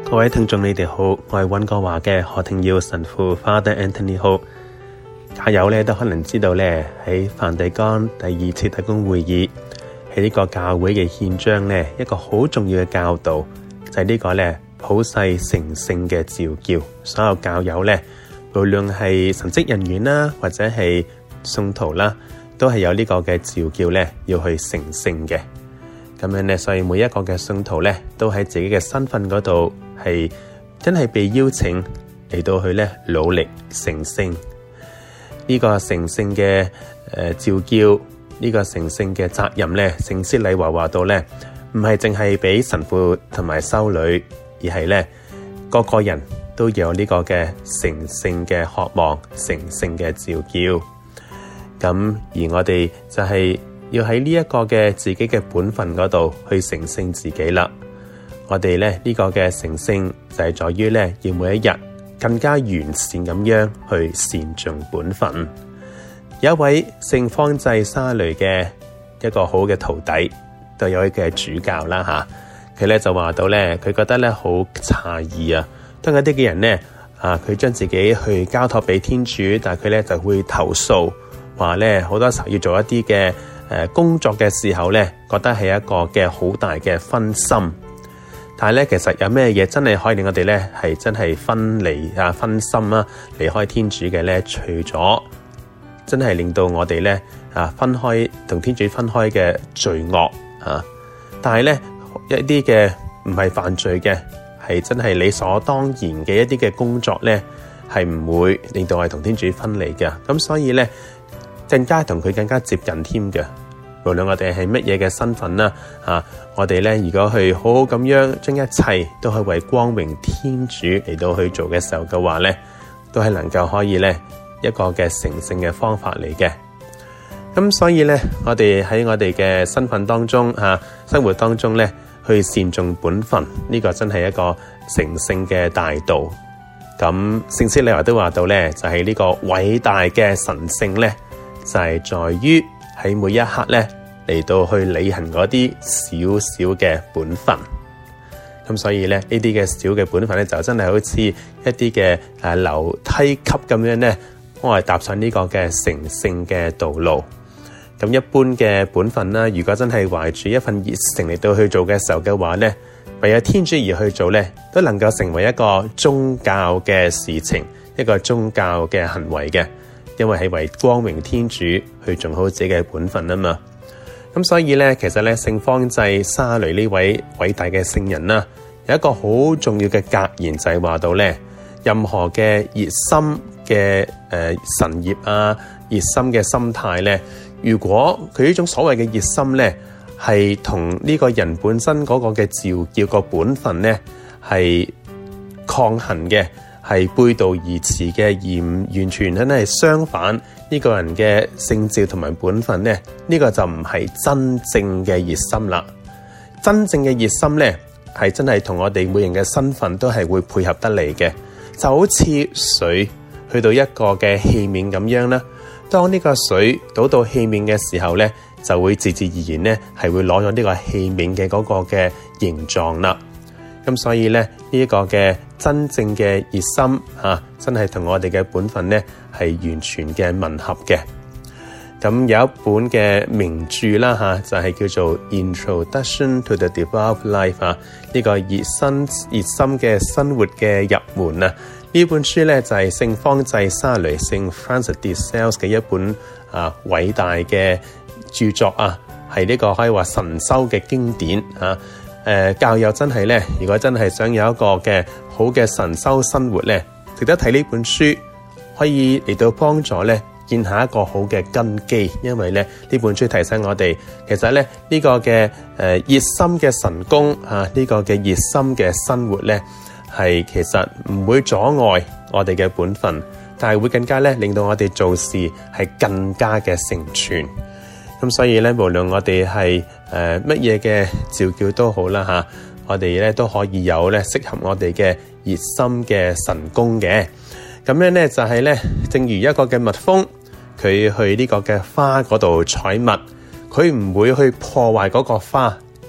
各位聽眾你哋好，我係溫哥華嘅何庭耀神父 Father Anthony Ho。教友咧都可能知道咧，喺梵蒂岡第二次特公會議喺呢個教會嘅憲章咧，一個好重要嘅教導就係呢個咧普世成聖嘅召叫，所有教友咧無論係神職人員啦或者係信徒啦，都係有呢個嘅召叫咧要去成聖嘅。咁樣咧，所以每一個嘅信徒咧都喺自己嘅身份嗰度係真係被邀請嚟到去咧努力成聖。呢個成聖嘅召叫，呢個成聖嘅責任咧，聖師禮華話到咧，唔係淨係俾神父同埋修女，而係咧個個人都有呢個嘅成聖嘅渴望、成聖嘅召叫。咁而我哋就係要喺呢一個嘅自己嘅本分嗰度去成聖自己啦。我哋咧呢個嘅成聖就係在於咧要每一日更加完善咁樣去善盡本分。有一位聖方濟沙雷嘅一個好嘅徒弟，都有一嘅主教啦吓，佢咧就話到咧，佢覺得咧好詫異啊，當有啲嘅人咧佢將自己去交託俾天主，但係佢咧就會投訴，話咧好多時候要做一啲嘅工作嘅時候咧，覺得係一個嘅好大嘅分心。但係咧，其實有咩嘢真係可以令我哋咧係真係分心啊，離開天主嘅咧？除咗真係令到我哋咧分開同天主分開嘅罪惡但係咧一啲嘅唔係犯罪嘅，係真係理所當然嘅一啲嘅工作咧，係唔會令到我哋同天主分離嘅。咁所以咧，更加同佢更加接近添嘅。無論我哋係乜嘢嘅身份啦，我哋咧如果去好好咁樣將一切都係為光榮天主嚟到去做嘅時候嘅話咧，都係能夠可以咧一個嘅成聖嘅方法嚟嘅。咁所以咧，我哋喺我哋嘅身份當中生活當中咧，去善盡本分，呢個真係一個成聖嘅大道。咁聖師禮華都話到咧，就係呢個偉大嘅神聖咧，就係在於喺每一刻咧嚟到去履行嗰啲小小嘅本分。咁所以咧呢啲嘅小嘅本分咧，就真係好似一啲嘅樓梯級咁樣咧，我係踏上呢個嘅成聖嘅道路。咁一般嘅本分啦，如果真係懷住一份熱誠嚟到去做嘅時候嘅話咧，為咗天主而去做咧，都能夠成為一個宗教嘅事情，一個宗教嘅行為嘅。因為係為光榮天主去做好自己嘅本分啊嘛。咁所以咧，其實咧聖方濟沙雷呢位偉大嘅聖人啦，有一個好重要嘅格言，就係話到咧，任何嘅熱心嘅神業熱心嘅心態咧，如果佢呢種所謂嘅熱心咧，係同呢個人本身嗰個嘅召叫個本分咧係抗衡嘅，係背道而馳嘅，而唔完全真係相反呢個人嘅聖召同埋本分咧，呢個就唔係真正嘅熱心啦。真正嘅熱心咧，係真係同我哋每人嘅身份都係會配合得嚟嘅，就好似水去到一個嘅器皿咁樣啦。當呢個水倒到器皿嘅時候咧，就會自自然然咧係會攞咗呢個器皿嘅嗰個嘅形狀啦。咁所以咧呢一個嘅真正嘅熱心真係同我哋嘅本分咧係完全嘅吻合嘅。咁有一本嘅名著啦就係叫做 Introduction to the Devout Life 呢個熱心嘅生活嘅入門啊。呢本書咧就係聖方濟沙雷聖 Francis de Sales 嘅一本偉大嘅著作係呢個可以話神修嘅經典教友真係咧，如果真係想有一個嘅好嘅神修生活咧，值得睇呢本書，可以嚟到幫助咧建下一個好嘅根基。因為咧呢本書提醒我哋，其實咧呢個嘅熱心嘅神功呢個嘅熱心嘅生活咧，係其實唔會阻礙我哋嘅本分，但係會更加咧令到我哋做事係更加嘅成全。咁所以咧，無論我哋係乜嘢嘅召叫都好啦我哋咧都可以有咧適合我哋嘅熱心嘅神功嘅。咁樣咧就係咧，正如一個嘅蜜蜂，佢去呢個嘅花嗰度採蜜，佢唔會去破壞嗰個花，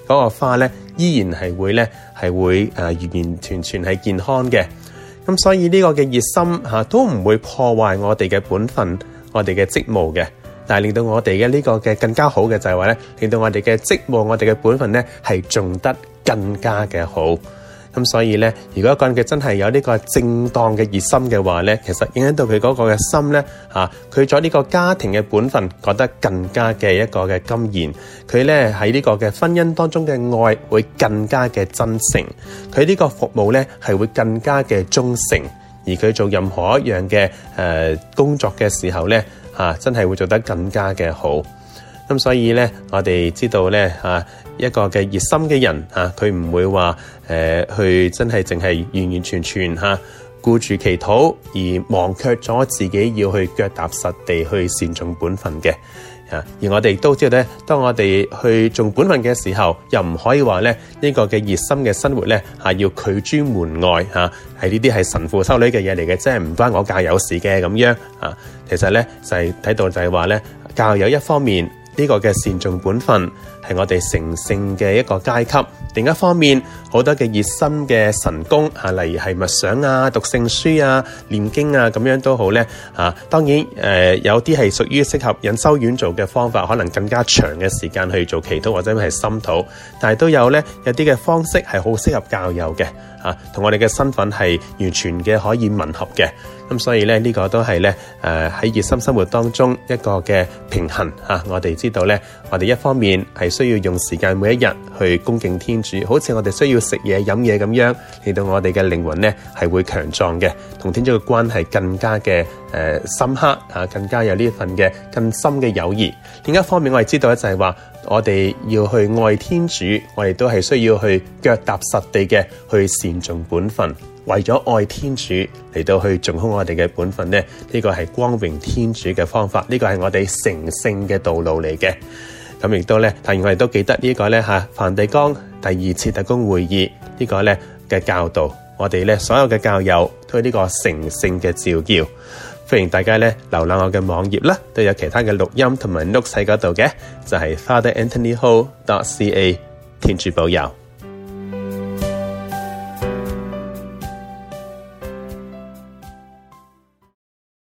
嗰個花咧依然係會完完全全係健康嘅。咁所以呢個嘅熱心都唔會破壞我哋嘅本分，我哋嘅職務嘅。但係令到我哋嘅呢個嘅更加好嘅就係話咧，令到我哋嘅職務、我哋嘅本分咧係做得更加嘅好。咁所以咧，如果一個人嘅真係有呢個正當嘅熱心嘅話咧，其實影響到佢嗰個嘅心咧，佢在呢個家庭嘅本分覺得更加嘅一個嘅甘然，佢咧喺呢個嘅婚姻當中嘅愛會更加嘅真誠，佢呢個服務咧係會更加嘅忠誠，而佢做任何一樣嘅工作嘅時候咧，真係會做得更加嘅好。咁所以咧，我哋知道咧，一個嘅熱心嘅人佢唔會話去真係淨係完完全全顧住祈禱，而忘卻咗自己要去腳踏實地去善盡本分嘅。而我哋都知道咧，當我哋去盡本分嘅時候，又唔可以話咧呢個嘅熱心嘅生活咧要拒諸門外係呢啲係神父修女嘅嘢嚟嘅，即係唔關我教友事嘅咁樣其實咧就係睇到就係話咧，教友一方面呢個嘅善盡本分係我哋成聖嘅一個階級，另一方面好多嘅熱心嘅神功例如係默想讀聖書念經咁樣都好咧當然有啲係屬於適合隱修院做嘅方法，可能更加長嘅時間去做祈禱或者係心禱，但係都有咧有啲嘅方式係好適合教友嘅同我哋嘅身份係完全嘅可以吻合嘅。咁所以咧呢個都係咧喺熱心生活當中一個嘅平衡我哋知道咧，我哋一方面係需要用時間每一日去恭敬天主，好似我哋需要食嘢飲嘢咁樣，令到我哋嘅靈魂咧係會強壯嘅，同天主嘅關係更加嘅深刻更加有呢份嘅更深嘅友誼。另一方面我哋知道咧就係話，我哋要去愛天主，我哋都係需要去腳踏實地嘅去善盡本分，為咗愛天主嚟到去盡好我哋嘅本分咧，呢個係光榮天主嘅方法，呢個係我哋成聖嘅道路嚟嘅。咁亦都咧，當然我哋都記得呢個咧梵蒂岡第二次特公會議呢個咧嘅教導，我哋咧所有嘅教友都係呢個成聖嘅召叫。歡迎大家咧瀏覽我嘅網頁啦，都有其他嘅錄音同埋 notes 喺嗰度嘅，就係 fatheranthonyho.ca。天主保佑。